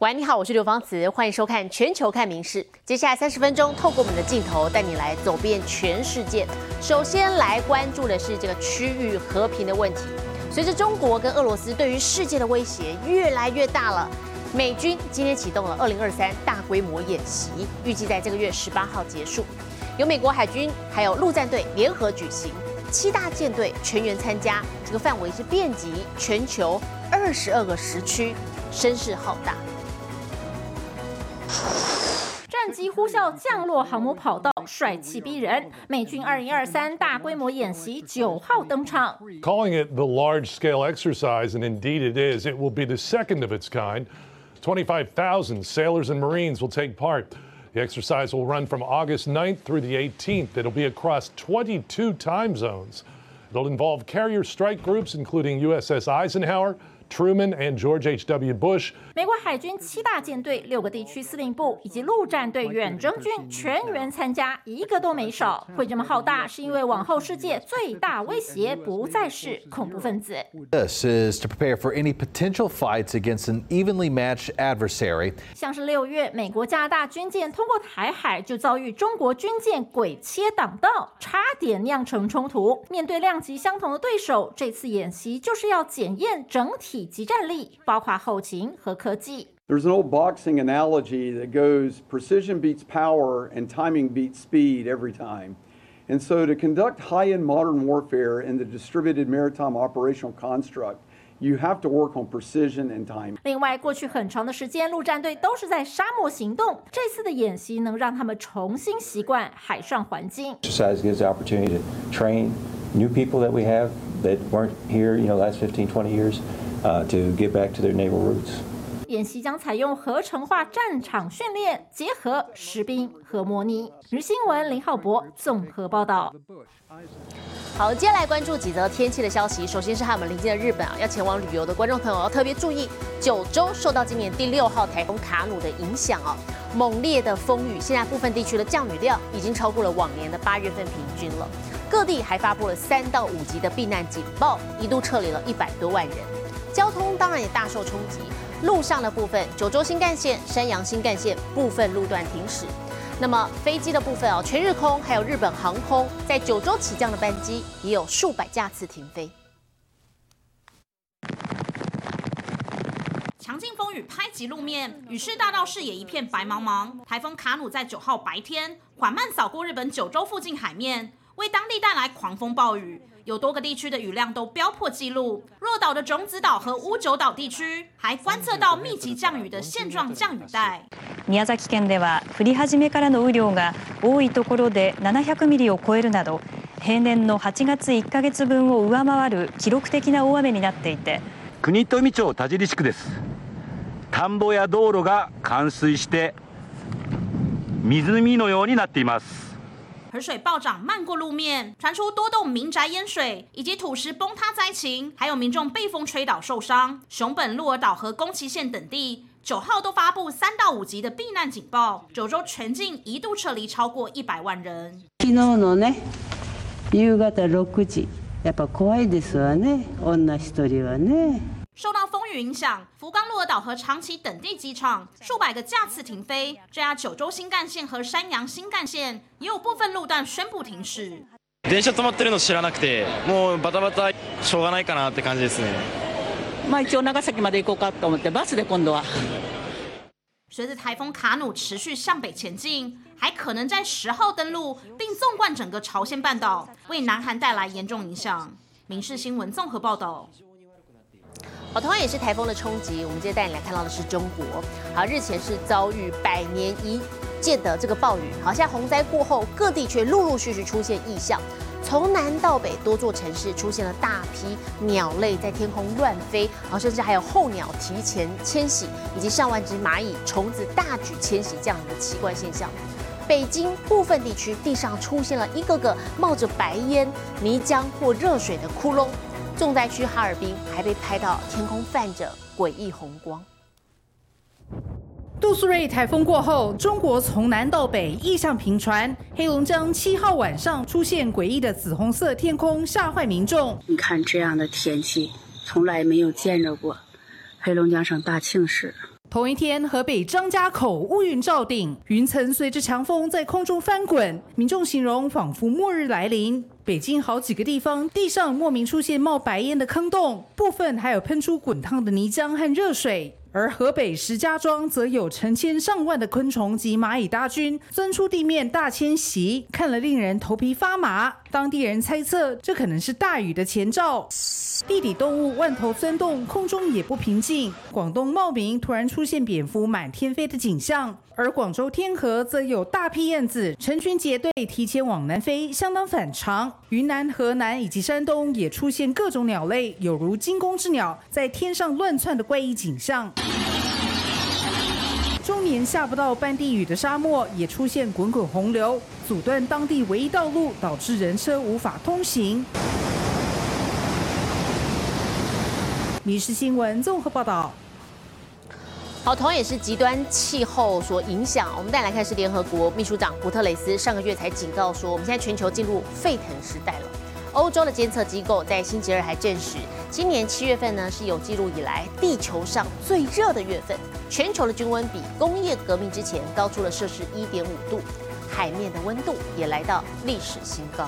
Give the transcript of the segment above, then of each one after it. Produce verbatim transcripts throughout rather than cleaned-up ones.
喂，你好，我是刘芳慈，欢迎收看《全球看名事》。接下来三十分钟，透过我们的镜头带你来走遍全世界。首先来关注的是这个区域和平的问题。随着中国跟俄罗斯对于世界的威胁越来越大了，美军今天启动了二零二三大规模演习，预计在这个月十八号结束。由美国海军还有陆战队联合举行，七大舰队全员参加，这个范围是遍及全球二十二个时区，声势浩大。 战机呼啸降落航母跑道，帅气逼人。美军二零二三大规模演习九号登场。 Calling it the large-scale exercise, and indeed it is, it will be the second of its kind. twenty-five thousand sailors and Marines will take part. The exercise will run from August ninth through the eighteenth. It'll be across twenty-two time zones. It'll involve carrier strike groups, including U S S Eisenhower, Truman and George H W Bush. 美国海军七大舰队、六个地区司令部以及陆战队远征军全员参加，一个都没少。会这么浩大，是因为往后世界最大威胁不再是恐怖分子。 This is to prepare for any potential fights against an evenly matched adversary. 像是六月，美国加拿大军舰通过台海，就遭遇中国军舰鬼切挡道，差点酿成冲突。面对量级相同的对手，这次演习就是要检验整体即战力，包括后勤和科技。 There's an old boxing analogy that goes precision beats power and timing beats speed every time. And so to conduct high-end modern warfare in the distributed maritime operational construct, you have to work on precision and timing. 另外，过去很长的时间，陆战队都是在沙漠行动，这次的演习能让他们重新习惯海上环境。 Exercise gives the opportunity to train new people that we have that weren't here, you know, last fifteen, twenty years, uh, to get back to their naval roots. 演习将采用合成化战场训练，结合实兵和模拟。日新闻林浩博综合报道。 好，接下来关注几则天气的消息。首先是和我们邻近的日本啊，要前往旅游的观众朋友要特别注意，九州受到今年第六号台风卡努的影响啊，猛烈的风雨，现在部分地区的降雨量已经超过了往年的八月份平均了。各地还发布了三到五级的避难警报，一度撤离了一百多万人。交通当然也大受冲击。路上的部分，九州新干线、山阳新干线部分路段停驶。那么飞机的部分哦，全日空还有日本航空在九州起降的班机也有数百架次停飞。 强劲风雨拍击路面，雨势大到视野一片白茫茫。台风卡努在九号白天缓慢扫过日本九州附近海面，为当地带来狂风暴雨。有多个地区的雨量都飙破纪录，若岛的种子岛和屋久岛地区还观测到密集降雨的现状降雨带。 宮崎県では降り始めからの雨量が多いところでななひゃくミリを超えるなど、平年のはちがついっかげつぶんを上回る記録的な大雨になっていて、 国富町田尻地区です。田んぼや道路が冠水して湖のようになっています。 河水暴涨漫过路面，传出多栋民宅淹水以及土石崩塌灾情，还有民众被风吹倒受伤。熊本、鹿儿岛和宫崎县等地九号都发布三到五级的避难警报，九州全境一度撤离超过一百万人。 昨日のね、夕方六時、やっぱ怖いですわね。女一人はね。 受到风雨影响，福冈、鹿儿岛和长崎等地机场数百个架次停飞。这家九州新干线和山阳新干线也有部分路段宣布停驶。 電車止まってるの知らなくて、もうバタバタしょうがないかなって感じですね。 まあ一応長崎まで行こうかと思ってバスで今度は。 随着台风卡努持续向北前进，还可能在十号登陆，并纵贯整个朝鲜半岛，为南韩带来严重影响。民视新闻综合报道。 好，同样也是台风的冲击，我们接着带你来看到的是中国。好，日前是遭遇百年一见的这个暴雨，好像洪灾过后，各地却陆陆续续出现异象。从南到北，多座城市出现了大批鸟类在天空乱飞，好，甚至还有候鸟提前迁徙，以及上万只蚂蚁、虫子大举迁徙这样的奇怪现象。北京部分地区地上出现了一个个冒着白烟、泥浆或热水的窟窿。重灾区哈尔滨还被拍到天空泛着诡异红光。 杜苏芮台风过后，中国从南到北异象频传。黑龙江七号晚上出现诡异的紫红色天空，吓坏民众。 你看这样的天气，从来没有见着过。黑龙江省大庆市。 同一天，河北张家口乌云罩顶，云层随着强风在空中翻滚，民众形容仿佛末日来临。北京好几个地方地上莫名出现冒白烟的坑洞，部分还有喷出滚烫的泥浆和热水。而河北石家庄则有成千上万的昆虫及蚂蚁大军钻出地面大迁徙，看了令人头皮发麻。当地人猜测，这可能是大雨的前兆。地底动物万头钻动，空中也不平静。广东茂名突然出现蝙蝠满天飞的景象，而广州天河则有大批燕子成群结队提前往南飞，相当反常。云南、河南以及山东也出现各种鸟类，有如惊弓之鸟在天上乱窜的怪异景象。终年下不到半滴雨的沙漠也出现滚滚洪流，阻断当地唯一道路，导致人车无法通行。民视新闻综合报道。 好，同样也是极端气候所影响。我们再来看是联合国秘书长古特雷斯上个月才警告说，我们现在全球进入沸腾时代了。欧洲的监测机构在星期二还证实，今年七月份呢是有记录以来地球上最热的月份，全球的均温比工业革命之前高出了摄氏一点五度，海面的温度也来到历史新高。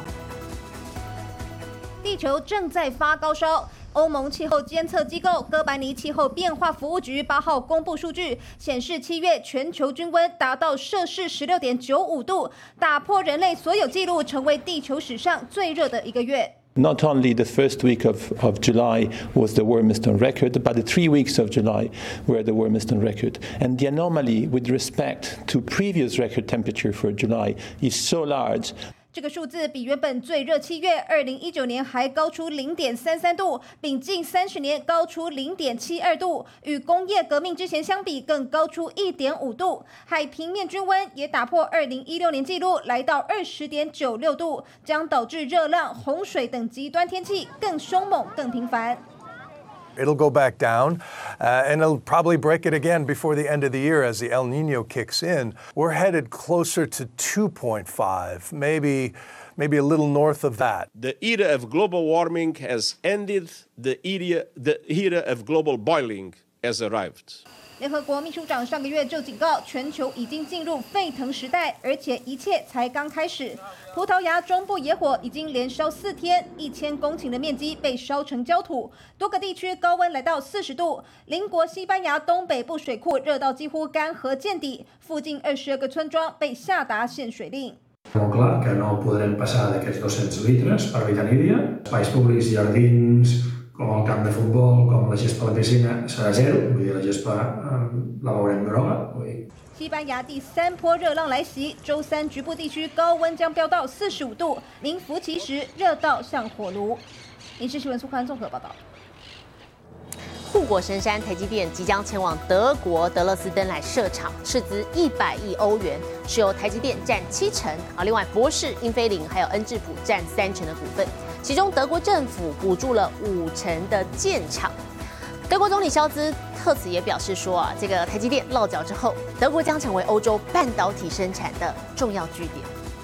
地球正在发高烧。欧盟气候监测机构哥白尼气候变化服务局八号公布数据，显示七月全球均温达到摄氏十六点九五度，打破人类所有纪录，成为地球史上最热的一个月。 Not only the first week of, of July was the warmest on record, but the three weeks of July were the warmest on record. And the anomaly with respect to previous record temperature for July is so large. 这个数字比原本最热七月二零一九年还高出零点三三度，比近三十年高出零点七二度，与工业革命之前相比更高出一点五度。海平面均温也打破二零一六年纪录，来到二十点九六度，将导致热浪、洪水等极端天气更凶猛、更频繁。 It'll go back down, uh, and it'll probably break it again before the end of the year as the El Nino kicks in. We're headed closer to two point five, maybe, maybe a little north of that. The era of global warming has ended. The era, the era of global boiling has arrived. 联合国秘书长上个月就警告，全球已经进入沸腾时代，而且一切才刚开始。葡萄牙中部野火已经连烧四天，一千公顷的面积被烧成焦土，多个地区高温来到四十度。邻国西班牙东北部水库热到几乎干涸见底，附近二十二个村庄被下达限水令。 Molt clar que no podrem passar d'aquests dos-cents litres per habitant i dia. Espais públics, jardins, com el camp de futbol, com la gespa a la piscina, serà zero. Vull dir, la gespa la veurem groga. 西班牙第三波热浪来袭，周三局部地区高温将飙到四十五度，名副其实热到像火炉。民视新闻苏宽综合报道。 护国神山台积电即将前往德国德勒斯登来设厂，斥资一百亿欧元，是由台积电占七成，啊，另外博世、英飞凌还有恩智浦占三成的股份，其中德国政府补助了五成的建厂。德国总理肖兹特此也表示说啊，这个台积电落脚之后，德国将成为欧洲半导体生产的重要据点。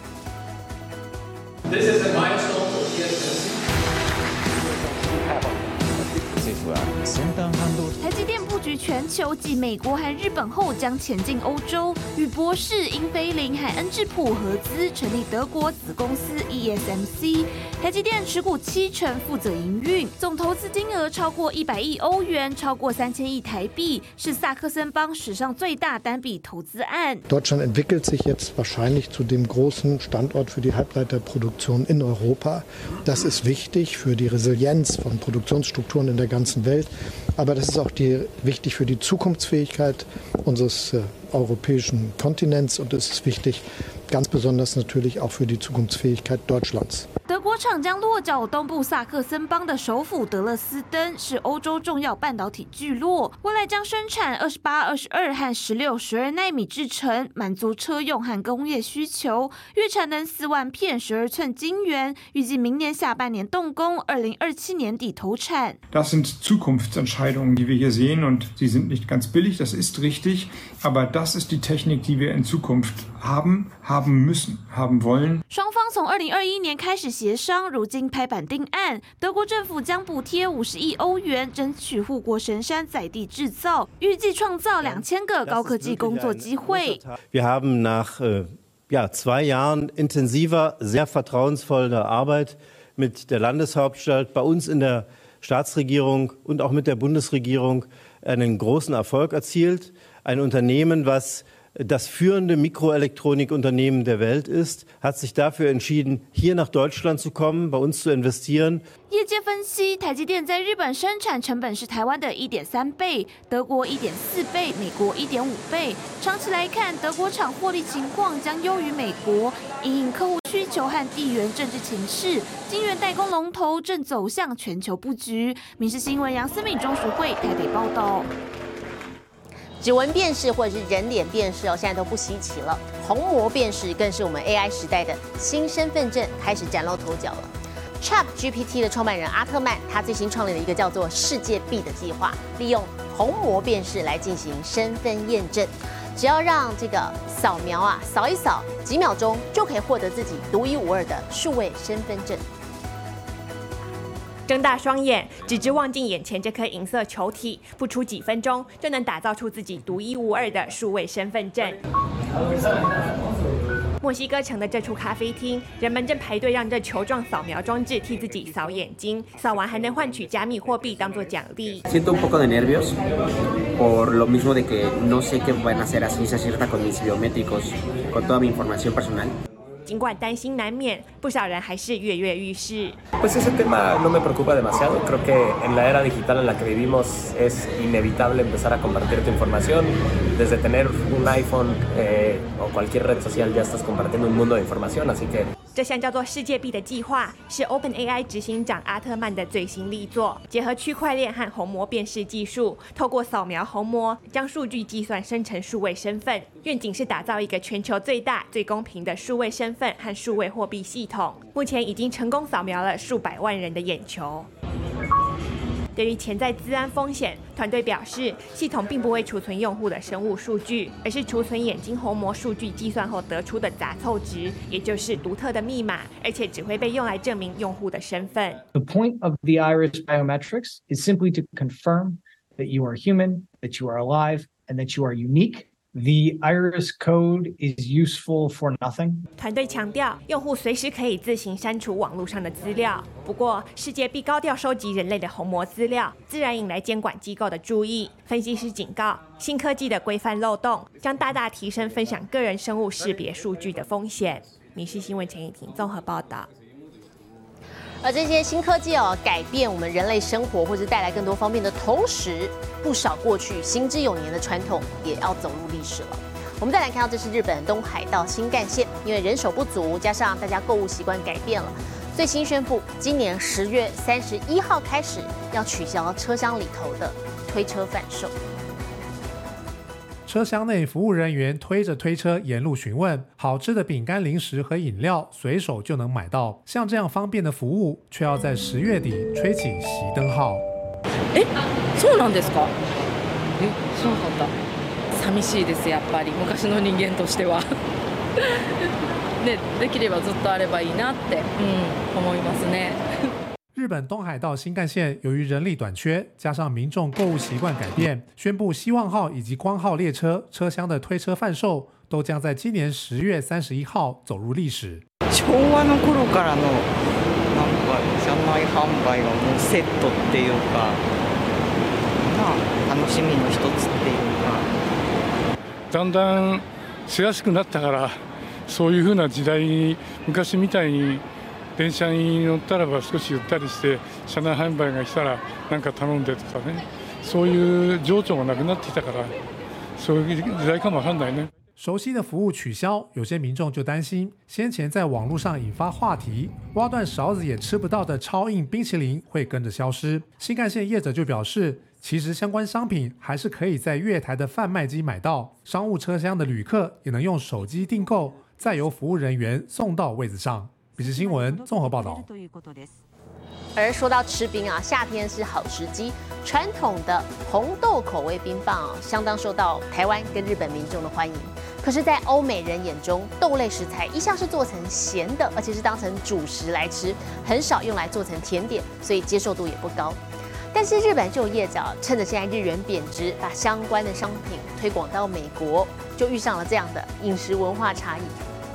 This is a milestone for T S M C. 台积电布局全球，继美国和日本后，将前进欧洲，与博世、英飞凌和恩智浦合资成立德国子公司 E S M C。台积电持股七成，负责营运，总投资金额超过一百亿欧元，超过三千亿台币，是萨克森邦史上最大单笔投资案。 Deutschland entwickelt sich jetzt wahrscheinlich zu dem großen Standort für die Halbleiterproduktion in Europa. Das ist wichtig für die Resilienz von Produktionsstrukturen in der ganzen Welt. Aber das ist auch die, wichtig für die Zukunftsfähigkeit unseres äh, europäischen Kontinents und es ist wichtig, ganz besonders natürlich auch für die Zukunftsfähigkeit Deutschlands. 德国厂将落脚东部萨克森邦的首府德勒斯登，是欧洲重要半导体聚落，未来将生产二十八、二十二和十六、十二奈米制程，满足车用和工业需求，月产能四万片十二寸晶圆，预计明年下半年动工，二零二七年底投产。 Das sind Zukunftsentscheidungen, die wir hier sehen und sie sind nicht ganz billig, das ist richtig, aber das ist die Technik, die wir in Zukunft haben, haben müssen, haben wollen. 双方从二零二一年开始协商，如今拍板定案。德国政府将补贴五十亿欧元，争取护国神山在地制造，预计创造两千个高科技工作机会。 Wir haben nach äh, ja, zwei Jahren intensiver, sehr vertrauensvoller Arbeit mit der Landeshauptstadt, bei uns in der Staatsregierung und auch mit der Bundesregierung einen großen Erfolg erzielt. Ein Unternehmen, was das führende Mikroelektronikunternehmen der Welt ist, hat sich dafür entschieden, hier nach Deutschland zu kommen, bei uns zu investieren. 业界分析，台积电在日本生产成本是台湾的一点三倍，德国一点四倍，美国一点五倍。长期来看，德国厂获利情况将优于美国。因应客户需求和地缘政治情势，晶圆代工龙头正走向全球布局。民视新闻杨思敏、钟淑慧台北报道。 指纹辨识或者是人脸辨识哦，现在都不稀奇了。虹膜辨识更是我们 A I 时代的新身份证，开始崭露头角了。ChatGPT 的创办人阿特曼，他最新创立了一个叫做“世界币”的计划，利用虹膜辨识来进行身份验证。只要让这个扫描啊，扫一扫，几秒钟就可以获得自己独一无二的数位身份证。 睁大双眼，只知望进眼前这颗银色球体，不出几分钟就能打造出自己独一无二的数位身份证。墨西哥城的这处咖啡厅，人们正排队让这球状扫描装置替自己扫眼睛，扫完还能换取加密货币当做奖励。 Siento un poco de nervios por lo mismo de que no sé qué van a hacer a ciencia cierta con mis biométricos, con toda mi información personal. 尽管担心难免，不少人还是跃跃欲试。 Pues ese tema no me preocupa demasiado. Creo que en la era digital en la que vivimos es inevitable empezar a compartir tu información. Desde tener un iPhone eh, o cualquier red social ya estás compartiendo un mundo de información, así que. 这项叫做“世界币”的计划是 OpenAI 执行长阿特曼的最新力作，结合区块链和虹膜辨识技术，透过扫描虹膜将数据计算生成数位身份。愿景是打造一个全球最大、最公平的数位身份和数位货币系统。目前已经成功扫描了数百万人的眼球。对于潜在资安风险，团队表示，系统并不会储存用户的生物数据，而是储存眼睛虹膜数据计算后得出的杂凑值，也就是独特的密码，而且只会被用来证明用户的身份。 The point of the iris biometrics is simply to confirm that you are human, that you are alive, and that you are unique.The iris code is useful for nothing. 团队强调，用户随时可以自行删除网络上的资料。不过，世界币高调收集人类的虹膜资料，自然引来监管机构的注意。分析师警告，新科技的规范漏洞将大大提升分享个人生物识别数据的风险。民视新闻陈以婷综合报道。 而这些新科技哦，改变我们人类生活，或者带来更多方便的同时，不少过去行之有年的传统也要走入历史了。我们再来看到，这是日本东海道新干线，因为人手不足，加上大家购物习惯改变了，最新宣布，今年十月三十一号开始要取消车厢里头的推车贩售。 车厢内服务人员推着推车沿路询问，好吃的饼干、零食和饮料随手就能买到。像这样方便的服务，却要在十月底吹起熄灯号。 え、そうなんですか？え、知らなかった。寂しいですやっぱり昔の人間としては。ね、できればずっとあればいいなって、うん、思いますね。 日本东海道新干线由于人力短缺，加上民众购物习惯改变，宣布希望号以及光号列车车厢的推车贩售都将在今年十月三十一号走入历史。 昭和の頃からのなんか車内販売がもうセットっていうか、まあ楽しみの一つっていうか。 だんだんしやすくなったから、そういう風な時代に昔みたいに。電車に乗ったらば少しゆったりして車内販売が来たら何か頼んでとかね、そういう情緒がなくなってきたから、そういう時代かもわかんないね。 熟悉的服务取消，有些民众就担心，先前在网络上引发话题，挖断勺子也吃不到的超硬冰淇淋会跟着消失。新干线业者就表示，其实相关商品还是可以在月台的贩卖机买到，商务车厢的旅客也能用手机订购，再由服务人员送到位子上。民视新闻综合报道。 而说到吃冰啊，夏天是好时机。传统的红豆口味冰棒啊，相当受到台湾跟日本民众的欢迎。可可是，在欧美人眼中，豆类食材一向是做成咸的，而且是当成主食来吃，很少用来做成甜点，所以接受度也不高。但是日本就有业者趁着现在日元贬值，把相关的商品推广到美国，就遇上了这样的饮食文化差异。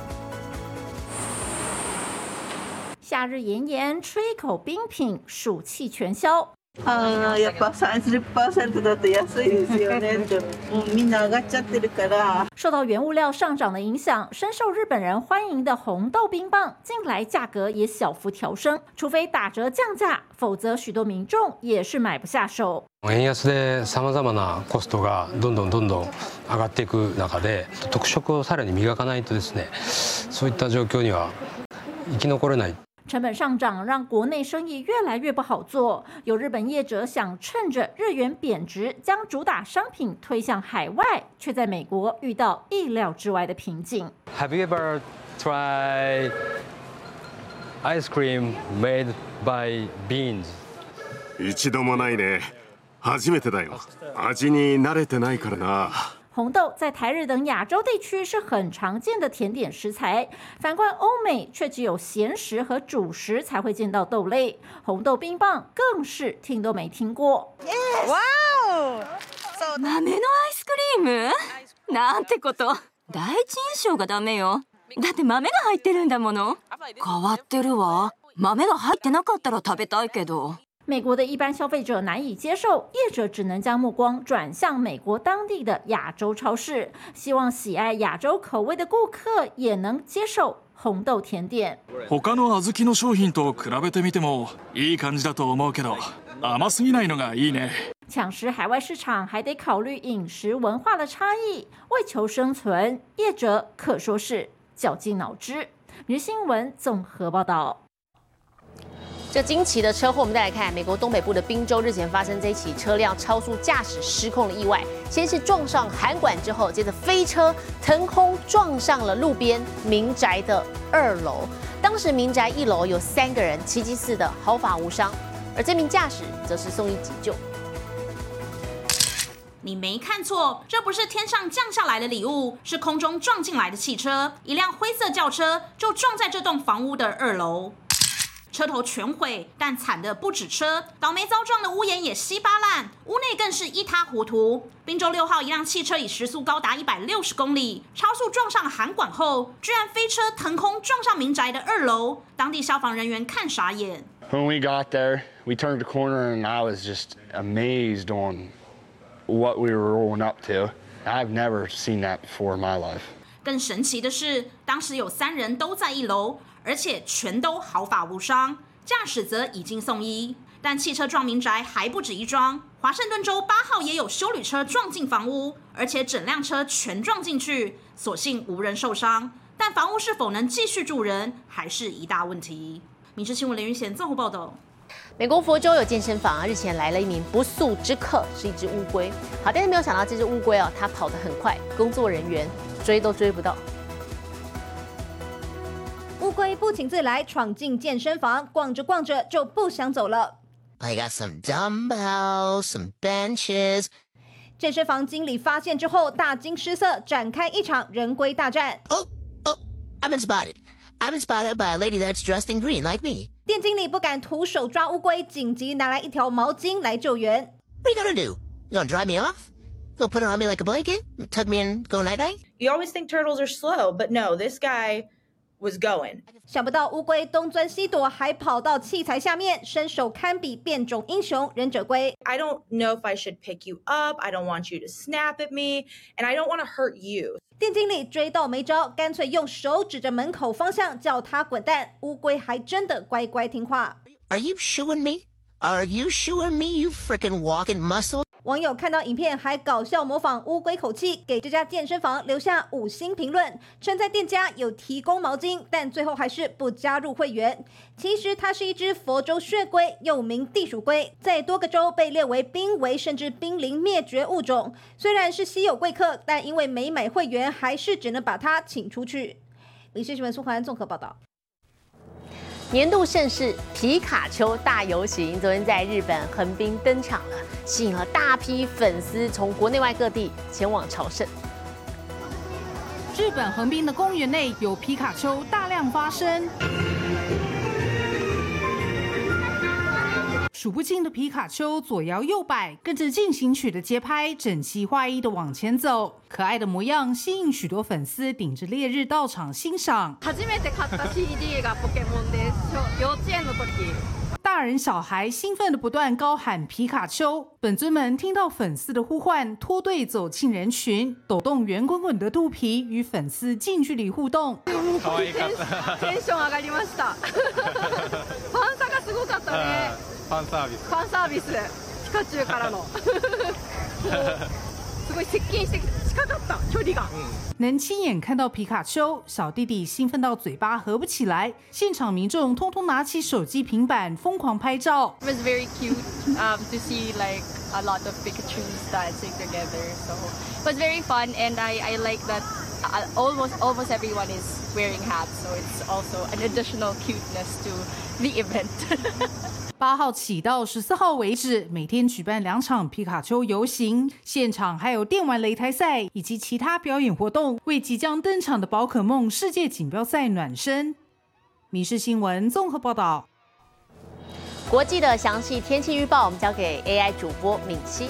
夏日炎炎，吹一口冰品，暑气全消。 あやっぱさんじゅっパーセントだと安いですよねって、もうみんな上がっちゃってるから。 受到原物料上涨的影响，深受日本人欢迎的红豆冰棒近来价格也小幅调升，除非打折降价，否则许多民众也是买不下手。 円安でさまざまなコストがどんどんどんどん上がっていく中で、特色をさらに磨かないとですね、そういった状況には生き残れない。 成本上涨让国内生意越来越不好做，有日本业者想趁着日元贬值，将主打商品推向海外，却在美国遇到意料之外的瓶颈。 Have you ever tried ice cream made by beans? 一度もないね。初めてだよ。味に慣れてないからな。 红豆在台日等亚洲地区是很常见的甜点食材，反观欧美却只有咸食和主食才会见到豆类。红豆冰棒更是听都没听过。 わお！豆のアイスクリーム？なんてこと。第一印象がダメよ。だって豆が入ってるんだもの。変わってるわ。豆が入ってなかったら食べたいけど。 美国的一般消费者难以接受，业者只能将目光转向美国当地的亚洲超市，希望喜爱亚洲口味的顾客也能接受红豆甜点。 他の小豆の商品と比べてみてもいい感じだと思うけど、甘すぎないのがいいね。 抢食海外市场还得考虑饮食文化的差异，为求生存，业者可说是绞尽脑汁。每日新闻综合报道。 这惊奇的车祸，我们再来看美国东北部的宾州，日前发生这一起车辆超速驾驶失控的意外，先是撞上涵管，之后接着飞车腾空撞上了路边民宅的二楼。当时民宅一楼有三个人，奇迹似的毫发无伤，而这名驾驶则是送医急救。 你没看错，这不是天上降下来的礼物，是空中撞进来的汽车。一辆灰色轿车就撞在这栋房屋的二楼。车头全毁，但惨的不止车，倒霉遭撞的屋檐也稀巴烂，屋内更是一塌糊涂。宾州六号一辆汽车以时速高达一百六十公里，超速撞上涵管后，居然飞车腾空撞上民宅的二楼，当地消防人员看傻眼。 When we got there, we turned the corner and I was just amazed on what we were rolling up to. I've never seen that before in my life. 更神奇的是，当时有三人都在一楼。而且全都毫发无伤，驾驶则已经送医。但汽车撞民宅还不止一桩，华盛顿州八号也有休旅车撞进房屋，而且整辆车全撞进去，所幸无人受伤。但房屋是否能继续住人，还是一大问题。民事新闻连云贤综合报道。 美国佛州有健身房，日前来了一名不速之客，是一只乌龟。好，但是没有想到这只乌龟哦，它跑得很快，工作人员追都追不到。 乌龟不请自来，闯进健身房，逛着逛着就不想走了。 I got some dumbbells, some benches. 健身房经理发现之后，大惊失色，展开一场人龟大战。 Oh, oh, I've been spotted. I've been spotted by a lady that's dressed in green like me. 店经理不敢徒手抓乌龟，紧急拿来一条毛巾来救援。 What are you gonna do? You gonna dry me off? You gonna put it on me like a blanket? Tuck me in, go night night? You always think turtles are slow, but no, this guy was going. 想不到乌龟东钻西躲，还跑到器材下面，身手堪比变种英雄忍者龟。 I don't know if I should pick you up. I don't want you to snap at me, and I don't want to hurt you. 店经理追到没招，干脆用手指着门口方向叫他滚蛋。乌龟还真的乖乖听话。 Are you shooing me? Are you shooing me, you frickin' walking muscle? 网友看到影片还搞笑模仿乌龟口气，给这家健身房留下五星评论，称赞店家有提供毛巾，但最后还是不加入会员。其实它是一只佛州血龟，又名地鼠龟，在多个州被列为濒危甚至濒临灭绝物种。虽然是稀有贵客，但因为没买会员，还是只能把它请出去。民事新闻苏环综合报道。 年度盛事皮卡丘大游行昨天在日本横滨登场了，吸引了大批粉丝从国内外各地前往朝圣。 日本横滨的公园内有皮卡丘大量发生。数不尽的皮卡丘左摇右摆，跟着进行曲的节拍，整齐划一的往前走。可爱的模样吸引许多粉丝顶着烈日到场欣赏。 初めて買った シーディー がポケモンです。幼稚園の時。 大人小孩兴奋的不断高喊皮卡丘，本尊们听到粉丝的呼唤，脱队走进人群，抖动圆滚滚的肚皮，与粉丝近距离互动。 テンション上がりました。ファン差がすごかったね。 ファンサービス。 ファンサービス。ピカチュウからの。すごい接近して近かった距離が。 能亲眼看到皮卡丘，小弟弟兴奋到嘴巴合不起来，现场民众通通拿起手机、平板疯狂拍照。 It was very cute um, to see like a lot of Pikachus dancing together. So it was very fun, and I, I like that almost almost everyone is wearing hats. So it's also an additional cuteness to the event. 八号起到十四号为止，每天举办两场皮卡丘游行，现场还有电玩擂台赛以及其他表演活动，为即将登场的宝可梦世界锦标赛暖身。民视新闻综合报道。 国际的详细天气预报，我们交给 A I 主播敏熙。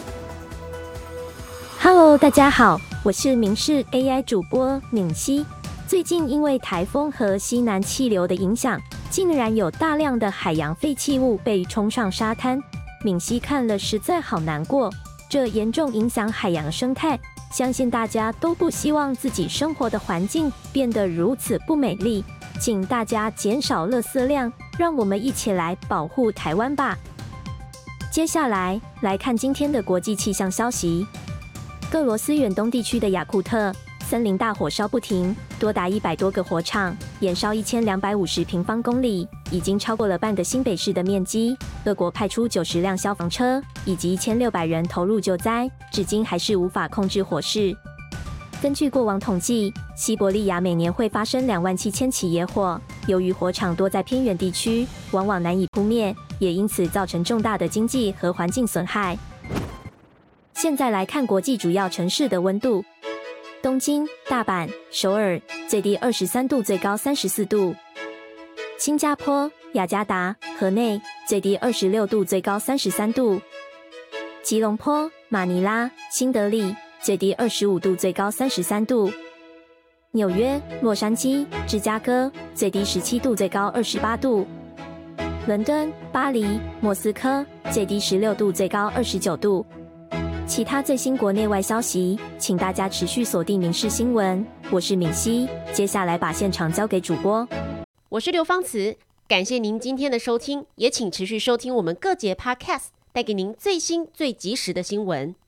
Hello， 大家好，我是民视 A I 主播敏熙。最近因为台风和西南气流的影响，竟然有大量的海洋废弃物被冲上沙滩。敏熙看了实在好难过，这严重影响海洋生态。相信大家都不希望自己生活的环境变得如此不美丽，请大家减少垃圾量，让我们一起来保护台湾吧。接下来来看今天的国际气象消息。俄罗斯远东地区的雅库特森林大火烧不停，多达一百多个火场，延烧一千两百五十平方公里，已经超过了半个新北市的面积。俄国派出九十辆消防车以及一千六百人投入救灾，至今还是无法控制火势。根据过往统计，西伯利亚每年会发生两万七千起野火，由于火场多在偏远地区，往往难以扑灭，也因此造成重大的经济和环境损害。现在来看国际主要城市的温度。东京、大阪、首尔最低二十三度，最高三十四度；新加坡、雅加达、河内最低二十六度，最高三十三度；吉隆坡、马尼拉、新德里最低二十五度，最高三十三度；纽约、洛杉矶、芝加哥最低十七度，最高二十八度；伦敦、巴黎、莫斯科最低十六度，最高二十九度。其他最新国内外消息，请大家持续锁定民视新闻。我是敏熙，接下来把现场交给主播。 我是刘芳慈，感谢您今天的收听，也请持续收听我们各节 Podcast， 带给您最新最及时的新闻。